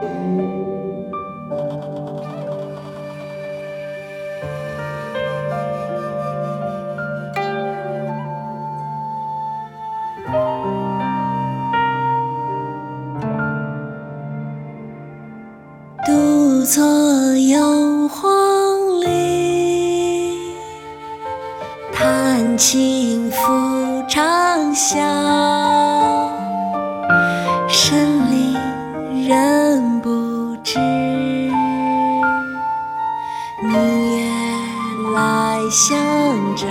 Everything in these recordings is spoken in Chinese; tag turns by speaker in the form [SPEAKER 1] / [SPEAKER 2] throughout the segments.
[SPEAKER 1] 独坐幽篁里，弹琴复长啸。深林人不知，明月来相照。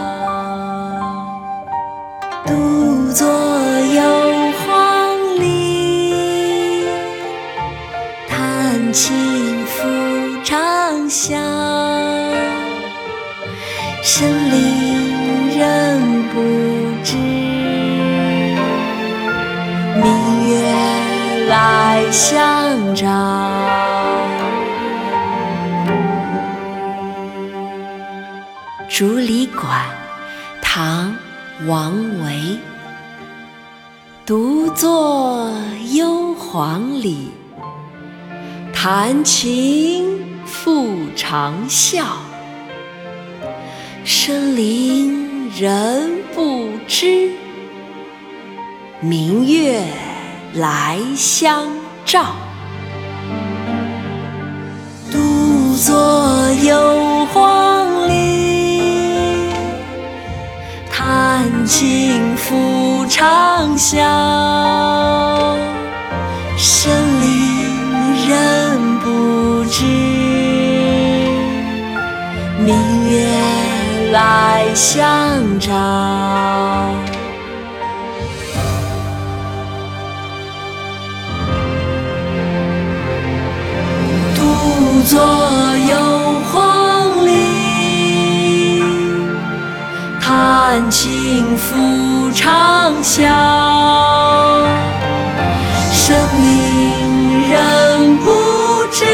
[SPEAKER 1] 独坐幽篁里，弹琴复长啸。深林人不知，明月来相照。竹里馆，唐·王维。独坐幽篁里，弹琴复长啸。深林人不知，明月来相照。独坐幽篁里，弹琴复长啸。深林人不知，明月来相照。独坐幽篁里，弹琴复长啸。深林人不知，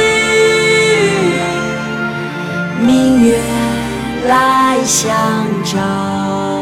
[SPEAKER 1] 明月来相照。